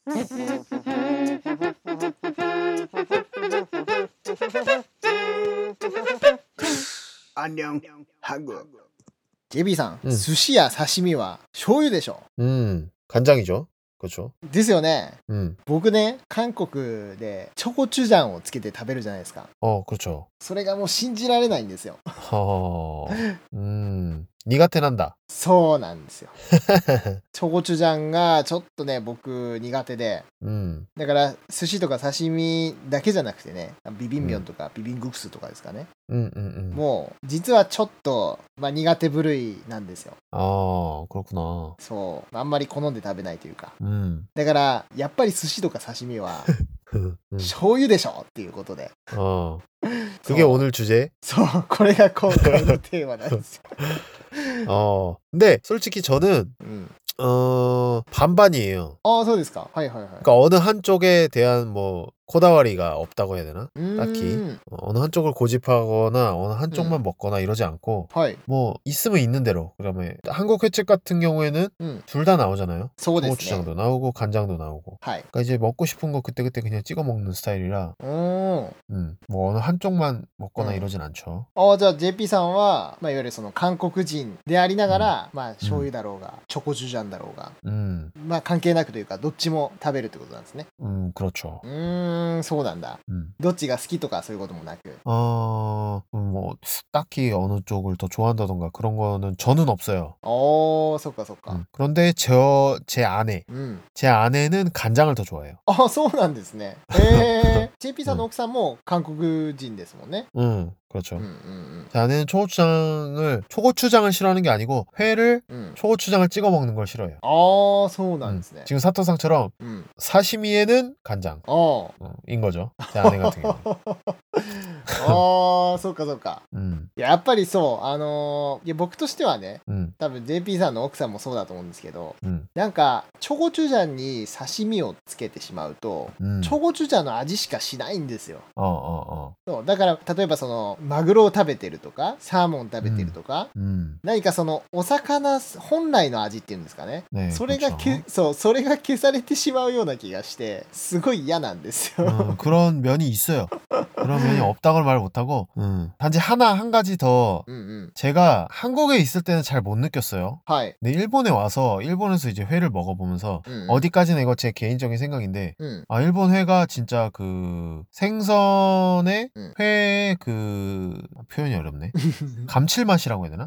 안녕 한국. JB さん、寿司や刺身は醤油でしょ。 간장이죠. 그렇죠. ですよね。僕ね、韓国でチョコチュジャンをつけて食べるじゃないですか。 그렇죠. それがもう信じられないんですよ。 니가 태난다. そうなんですよ。チョコチュジャンがちょっとね、僕苦手で。だから寿司とか刺身だけじゃなくてね、ビビンミョンとかビビングクスとかですかね。もう実はちょっと、苦手部類なんですよ。 그렇구나. そう、あんまり好んで食べないというか。だからやっぱり寿司とか刺身は醤油でしょっていうことで。 그게 오늘 주제? そう、これが今回のテーマなんですよ。 근데 솔직히 저는 반반이에요. そうですか。はいはいはい。 그러니까 어느 한쪽에 대한 뭐 코다와리가 없다고 해야 되나? 딱히 어느 한쪽을 고집하거나 어느 한쪽만 먹거나 이러지 않고 뭐 있으면 있는 대로. 그다음에 한국 횟집 같은 경우에는 둘 다 나오잖아요. 초고추장도 나오고 간장도 나오고. 그러니까 이제 먹고 싶은 거 그때그때 그냥 찍어 먹는 스타일이라 뭐 어느 한쪽만 먹거나 이러진 않죠. じゃあ JP さんは、いわゆるその韓国人でありながら、醤油だろうがチョコチュジャンだろうが、関係なくというかどっちも食べるってことなんですね。 그렇죠. そうなんだ。どっちが好きとかそういうこともなく。 뭐 딱히 어느 쪽을 더 좋아한다던가 그런 거는 저는 없어요. そっかそっか。 그런데 제 아내는 간장을 더 좋아해요. そうなんですね。JP さんの奥さんも韓国人ですもんね。 그렇죠. 제 아내는 초고추장을 싫어하는 게 아니고 회를 초고추장을 찍어 먹는 걸 싫어해요. そうなんですね。 지금 사토상처럼 사시미에는 간장 인 거죠. 제 아내 같은 경우는. そうかそうか。やっぱりそう、いや僕としてはね、多分 JP さんの奥さんもそうだと思うんですけど、なんかチョコチュジャンに刺身をつけてしまうと、チョコチュジャンの味しかしないんですよ。そうだから例えばそのマグロを食べてるとかサーモン食べてるとか、何かそのお魚本来の味っていうんですかね、それがそれが消されてしまうような気がしてすごい嫌なんですよ。 그런 면이 있어요. 그런 면이 없다고 말 못하고 단지 한 가지 더 제가 한국에 있을 때는 잘 못 느꼈어요. 근데 일본에 와서 일본에서 이제 회를 먹어보면서 어디까지나 이거 제 개인적인 생각인데 일본 회가 진짜 그 생선의 회의 그 표현이 어렵네. 감칠맛이라고 해야 되나?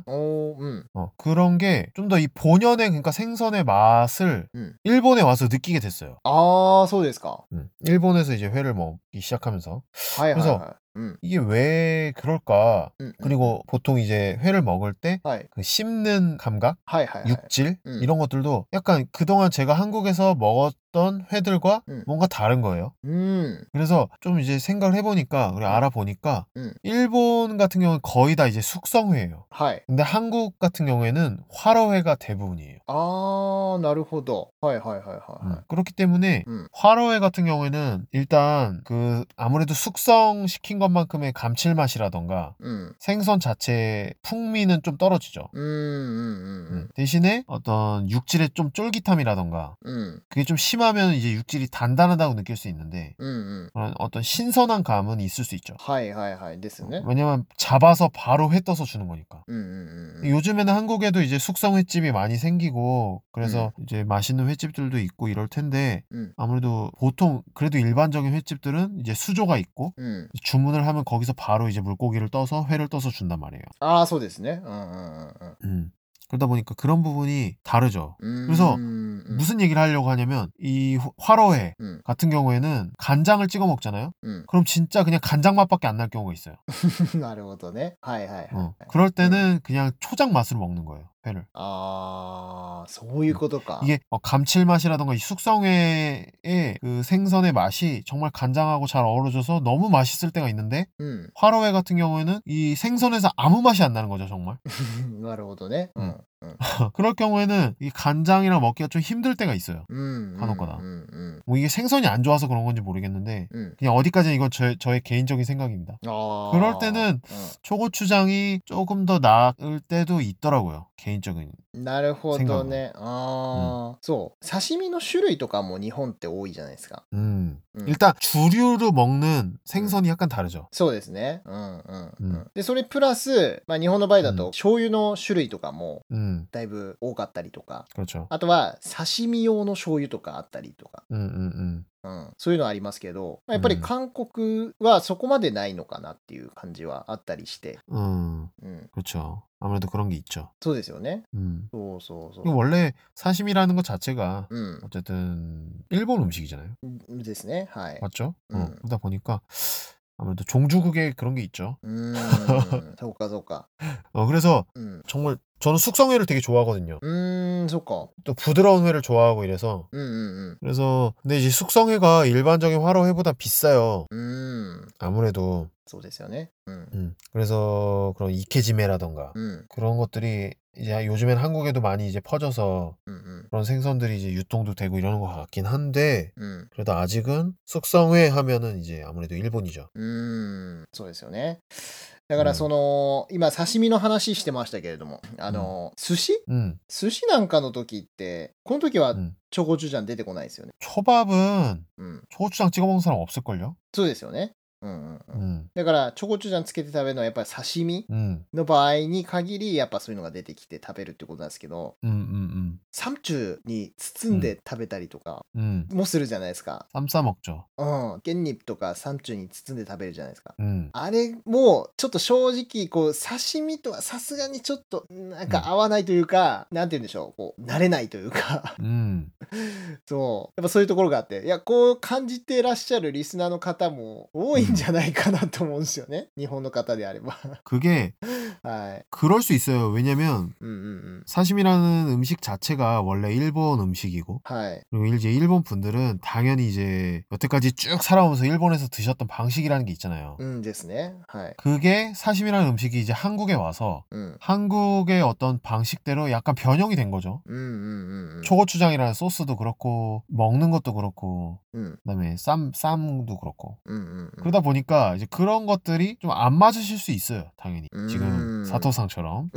그런 게 좀 더 이 본연의 그러니까 생선의 맛을 일본에 와서 느끼게 됐어요. そうですか。 일본에서 이제 회를 먹기 시작하면서 그래서 이게 왜 그럴까? 그리고 보통 이제 회를 먹을 때 그 씹는 감각, 육질 이런 것들도 약간 그동안 제가 한국에서 먹었던 회들과 뭔가 다른 거예요. 그래서 좀 이제 생각을 해보니까 그리고 알아보니까 일본 같은 경우는 거의 다 이제 숙성회예요. 근데 한국 같은 경우에는 활어회가 대부분이에요. なるほど。 그렇기 때문에 활어회 같은 경우에는 일단 그 아무래도 숙성시킨 것만큼의 감칠맛이라던가 생선 자체의 풍미는 좀 떨어지죠. 대신에 어떤 육질의 좀 쫄깃함이라던가 그게 좀 심하면 이제 육질이 단단하다고 느낄 수 있는데 그런 어떤 신선한 감은 있을 수 있죠. ですね。 왜냐면 잡아서 바로 회 떠서 주는 거니까. 요즘에는 한국에도 이제 숙성 횟집이 많이 생기고 그래서 이제 맛있는 횟집들도 있고 이럴 텐데 아무래도 보통 그래도 일반적인 횟집들은 이제 수조가 있고 주문을 하면 거기서 바로 이제 물고기를 떠서 회를 떠서 준단 말이에요. そうですね。 그러다 보니까 그런 부분이 다르죠. 그래서 무슨 얘기를 하려고 하냐면 이 활어회 같은 경우에는 간장을 찍어 먹잖아요. 그럼 진짜 그냥 간장 맛밖에 안 날 경우가 있어요. なるほどね。 그럴 때는 그냥 초장 맛으로 먹는 거예요, 회를. そういうことか。 이게 감칠맛이라던가 이 숙성회의 그 생선의 맛이 정말 간장하고 잘 어우러져서 너무 맛있을 때가 있는데 활어회 같은 경우에는 이 생선에서 아무 맛이 안 나는 거죠, 정말. なるほどね。 그럴 경우에는 이 간장이랑 먹기가 좀 힘들 때가 있어요. 간혹가다. 뭐 이게 생선이 안 좋아서 그런 건지 모르겠는데 그냥 어디까지는 이건 저의 개인적인 생각입니다. 그럴 때는 초고추장이 조금 더 나을 때도 있더라고요. 개인적인 なるほど 생각은. ね。そう。刺身の種類とかも日本って多いじゃないですか。 일단 주류로 먹는 생선이 약간 다르죠. そうですね。で、それプラス、まあ日本の場合だと醤油の種類とかもだいぶ多かったりとか、 그렇죠. あとは刺身用の醤油とかあったりとか、そういうのありますけど、まあやっぱり韓国はそこまでないのかなっていう感じはあったりして。 그렇죠. 아무래도 그런 게 있죠. そうですよね。そうそうそう。 원래 사시미라는 것 자체가 어쨌든 일본 음식이잖아요. ですね。はい。 맞죠? 그러다 보니까 아무래도 종주국에 그런 게 있죠. そうかそうか。 그래서 정말 저는 숙성회를 되게 좋아하거든요. そうか。 또 부드러운 회를 좋아하고 이래서. 그래서 근데 이제 숙성회가 일반적인 화로회보다 비싸요. 아무래도. そうですよね。 그래서 그런 이케지메라던가 그런 것들이 이제 요즘엔 한국에도 많이 이제 퍼져서 그런 생선들이 이제 유통도 되고 이러는 것 같긴 한데 그래도 아직은 숙성회 하면은 이제 아무래도 일본이죠. そうですよね。だからその、今刺身の話してましたけれども、寿司寿司なんかの時って、この時はチョコチュジャン出てこないですよね。 초밥은 초고추장 찍어 먹는 사람 없을걸요? そうですよね。だからチョコチュジャンつけて食べるのはやっぱり刺身の場合に限りやっぱそういうのが出てきて食べるってことなんですけど、サムチュに包んで食べたりとかもするじゃないですか。 쌈 싸 먹죠. ケンニップとかサムチュに包んで食べるじゃないですか。あれもちょっと正直こう刺身とはさすがにちょっとなんか合わないというか、なんて言うんでしょう、こう慣れないというかそうやっぱそういうところがあって、いやこう感じてらっしゃるリスナーの方も多いんじゃないかなと思うんですよね。日本の方であれば。 그게 그럴 수 있어요. 왜냐면 사시미라는 음식 자체가 원래 일본 음식이고 그리고 이제 일본 분들은 당연히 이제 여태까지 쭉 살아오면서 일본에서 드셨던 방식이라는 게 있잖아요. ですね。 그게 사시미라는 음식이 이제 한국에 와서 한국의 어떤 방식대로 약간 변형이 된 거죠. 초고추장이라는 소스도 그렇고 먹는 것도 그렇고 그다음에 쌈도 그렇고 그러다 보니까 이제 그런 것들이 좀 안 맞으실 수 있어요. 당연히 지금 사토상처럼.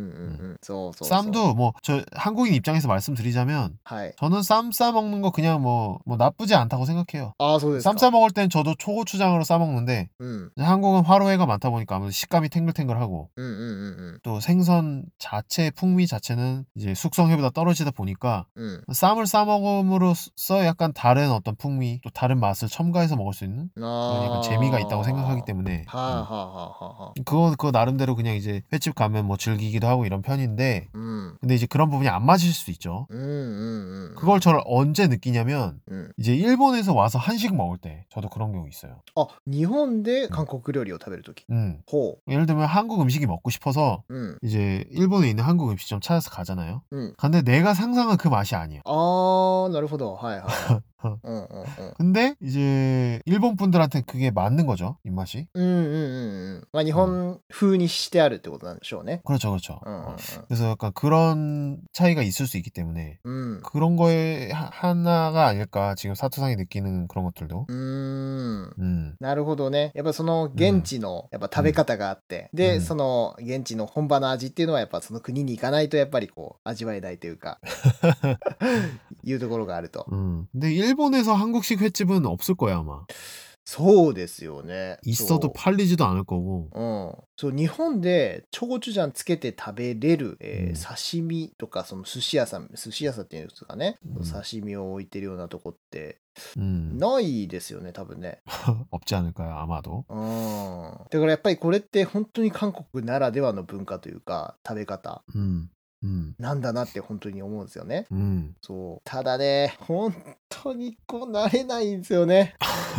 쌈도 뭐 저 한국인 입장에서 말씀드리자면 저는 쌈 싸 먹는 거 그냥 뭐 나쁘지 않다고 생각해요. 쌈 싸 먹을 땐 저도 초고추장으로 싸 먹는데 한국은 화로회가 많다 보니까 아무래도 식감이 탱글탱글하고 또 생선 자체 풍미 자체는 이제 숙성회보다 떨어지다 보니까 쌈을 싸 먹음으로써 약간 다른 어떤 풍미 또 다른 맛을 첨가해서 먹을 수 있는 그런 약간 재미가 있다고 생각하기 때문에 그거 나름대로 그냥 이제 횟집 가면 뭐 즐기기도 하고 이런 편인데 근데 이제 그런 부분이 안 맞을 수도 있죠. 그걸 저를 언제 느끼냐면 이제 일본에서 와서 한식 먹을 때 저도 그런 경우 있어요. 日本で韓国料理を食べるとき。 예를 들면 한국 음식이 먹고 싶어서 이제 일본에 있는 한국 음식점 찾아서 가잖아요. 근데 내가 상상한 그 맛이 아니야. なるほど。はいはい。 근데 이제 일본 분들한테 그게 맞는 거죠, 입맛이. まあ日本風にしてあるってことなんでしょうね。 그렇죠, 그렇죠. 그래서 약간 그런 차이가 있을 수 있기 때문에 그런 거에 하나가 아닐까 지금 사토상이 느끼는 그런 것들도. なるほどね。やっぱその現地のやっぱ食べ方があって、でその現地の本場の味っていうのはやっぱその国に行かないとやっぱりこう味わえないというかいうところがあると。 근데 일본에서 한국식 횟집은 없을 거야 아마. そうですよね。 있어도 팔리지도 않을 거고. そう日本でチョコチュジャンつけて食べれる、刺身とかその寿司屋さんっていうんですかね、刺身を置いてるようなとこってないですよね多分ね。 없지 않을까요 아마도. だからやっぱりこれって本当に韓国ならではの文化というか食べ方なんだなって本当に思うんですよね。そうただね本当にこう慣れないんですよね。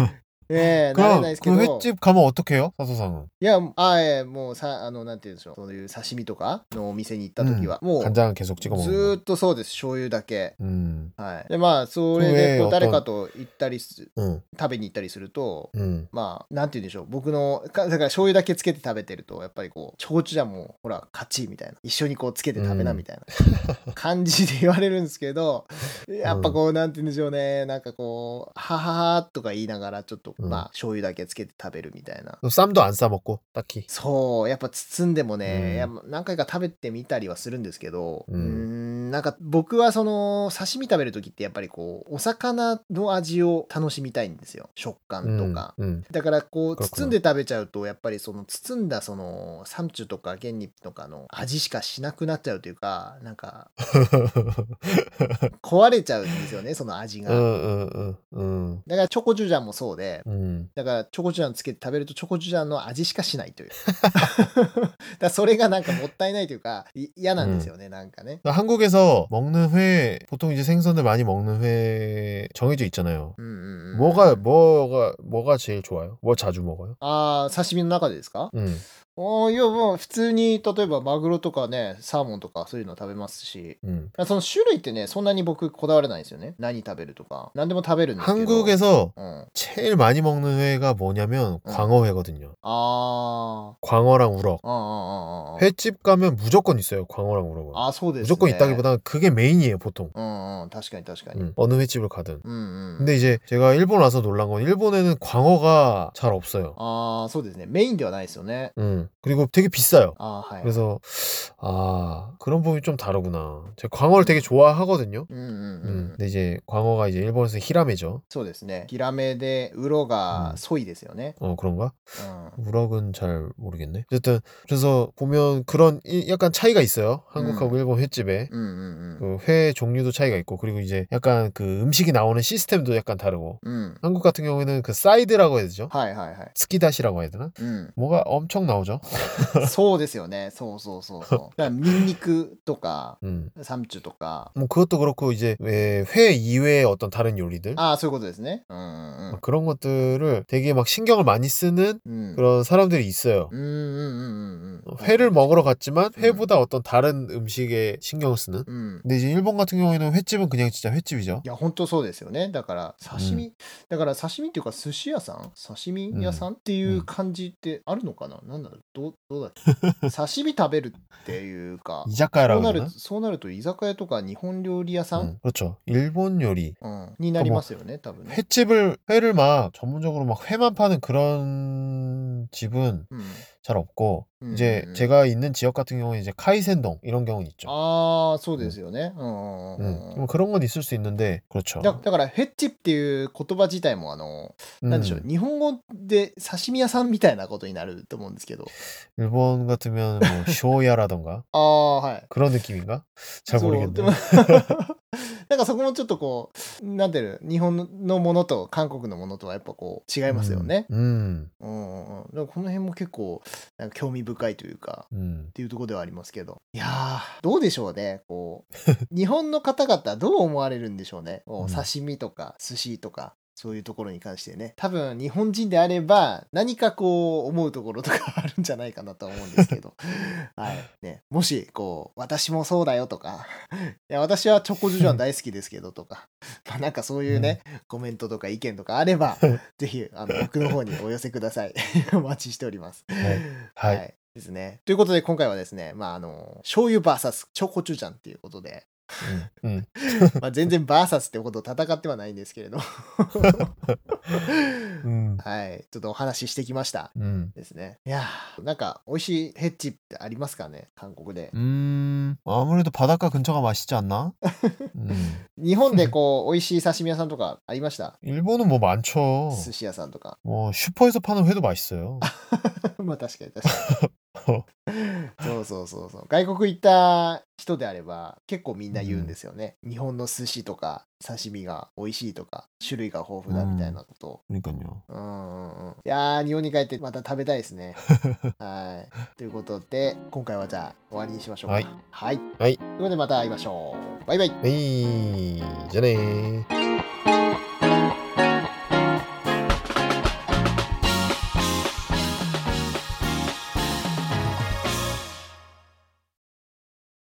慣れないですけど。 횟집 가면 어떡해요? 사소상은. いや、もうなんて言うんでしょう。そういう刺身とかのお店に行った時は、もう、 간장 계속 찍어 ず 먹는 ーっとそうです。醤油だけ。 はい。で、まあ、それ 그 で 외에 こう誰か 어떤 と行ったり食べに行ったりすると、 음. まあ、なんて言うんでしょう。僕の、だから醤油だけつけて食べてると、やっぱりこう、チョコチュジャンも、ほら、勝ちみたいな。一緒にこうつけて食べなみたいな感じで言われるんですけど、やっぱこう、なんて言うんでしょうね。なんかこう、はははとか言いながら、ちょっと、まあ、醤油だけつけて食べるみたいな。 쌈도 안 싸먹고 딱히. そう、やっぱ包んでもね、やっぱ何回か食べてみたりはするんですけど、なんか僕はその刺身食べるときってやっぱりこうお魚の味を楽しみたいんですよ、食感とか。だからこう包んで食べちゃうとやっぱりその包んだそのサムチュとかゲンニップとかの味しかしなくなっちゃうというか、なんか壊れちゃうんですよね、その味が。だからチョコチュジャンもそうで、だからチョコチュジャンつけて食べるとチョコチュジャンの味しかしないという。だそれがなんかもったいないというか嫌なんですよね、なんかね。 한국에서 먹는 회 보통 이제 생선들 많이 먹는 회 정해져 있잖아요. 뭐가 제일 좋아요? 뭐 자주 먹어요? ああ、刺身の中でですか？いや、もう普通に例えばマグロとかね、サーモンとかそういうの食べますし、その種類ってね、そんなに僕こだわらないんですよね。何食べるとか何でも食べるんですけど。 한국에서 제일 많이 먹는 회가 뭐냐면 광어회거든요. 광어랑 우럭. 횟집 가면 무조건 있어요, 광어랑 우럭은. 아, そうですね。 무조건 있다기보다는 그게 메인이에요, 보통. 確かに確かに。 어느 횟집을 가든. 근데 이제 제가 일본 와서 놀란 건 일본에는 광어가 잘 없어요. ああ、そうですね。メインではないですよね。 그리고 되게 비싸요. 아, 그래서 그런 부분이 좀 다르구나. 제가 광어를 되게 좋아하거든요. 근데 이제 광어가 이제 일본에서 히라메죠. そうですね。ヒラメでウロがソイですよね。 그런가? 우럭은 잘 모르겠네. 어쨌든 그래서 보면 그런 약간 차이가 있어요. 한국하고 일본 횟집에. 그 회 종류도 차이가 있고, 그리고 이제 약간 그 음식이 나오는 시스템도 약간 다르고. 한국 같은 경우에는 그 사이드라고 해야 되죠? 스키다시라고 해야 되나? 뭐가 엄청 나오죠. そうですよね。そうそうそうそう。だからニンニクとか、サムチュとか。 뭐 그것도 그렇고 이제 회 이외의 어떤 다른 요리들. ああ、そういうことですね。 그런 것들을 되게 막 신경을 많이 쓰는 그런 사람들이 있어요. 회를 먹으러 갔지만 회보다 어떤 다른 음식에 신경을 쓰는. 근데 이제 일본 같은 경우에는 횟집은 그냥 진짜 횟집이죠. いや、本当そうですよね。だから刺身っていうか寿司屋さん、刺身屋さんっていう感じってあるのかな。なんだろう、どうだっけ。刺身食べるっていうか、 そうなると居酒屋とか日本料理屋さん、 그렇죠. 일본 요리 になりますよね、多分ね。 회를 막 전문적으로 막 회만 파는 그런 집은 잘 없고, 이제 제가 있는 지역 같은 경우는 이제 카이센동 이런 경우는 있죠. ああ、そうですよね。 그런 건 있을 수 있는데, 그렇죠. だからヘッチっていう言葉自体もなんでしょう、日本語で刺身屋さんみたいなことになると思うんですけど。 일본 같으면 뭐 쇼야라던가. ああ、はい。 그런 느낌인가? 잘 모르겠네. なんかそこもちょっとこう、なんていうの、日本のものと韓国のものとはやっぱこう違いますよね。だからこの辺も結構なんか興味深いというか、っていうところではありますけど。いやー、どうでしょうね。こう日本の方々どう思われるんでしょうね。刺身とか寿司とか。そういうところに関してね、多分日本人であれば何かこう思うところとかあるんじゃないかなと思うんですけどはいね、もしこう私もそうだよとかいや私はチョコジュジャン大好きですけどとかなんかそういうね、コメントとか意見とかあればぜひ僕の方にお寄せくださいお待ちしております。はい、ですね。ということで今回はですね、醤油 VS チョコチュジャンっていうことでまあ全然バーサスってことを戦ってはないんですけれどはい、ちょっとお話ししてきましたですね。いやー、なんか美味しいヘッジってありますかね、韓国で。 아무래도 바닷가 근처가 맛있지 않나? 日本でこう美味しい刺身屋さんとかありました？ 일본은 뭐 많죠. 寿司屋さんとか。 슈퍼에서 파는 회도 맛있어요. まあ確かにそう外国行った人であれば結構みんな言うんですよね、日本の寿司とか刺身が美味しいとか種類が豊富だみたいなことを。 그러니까요. いやー、日本に帰ってまた食べたいですねはい、ということで今回はじゃあ終わりにしましょうか。はい、ということでまた会いましょう。バイバイ。 じゃあねー。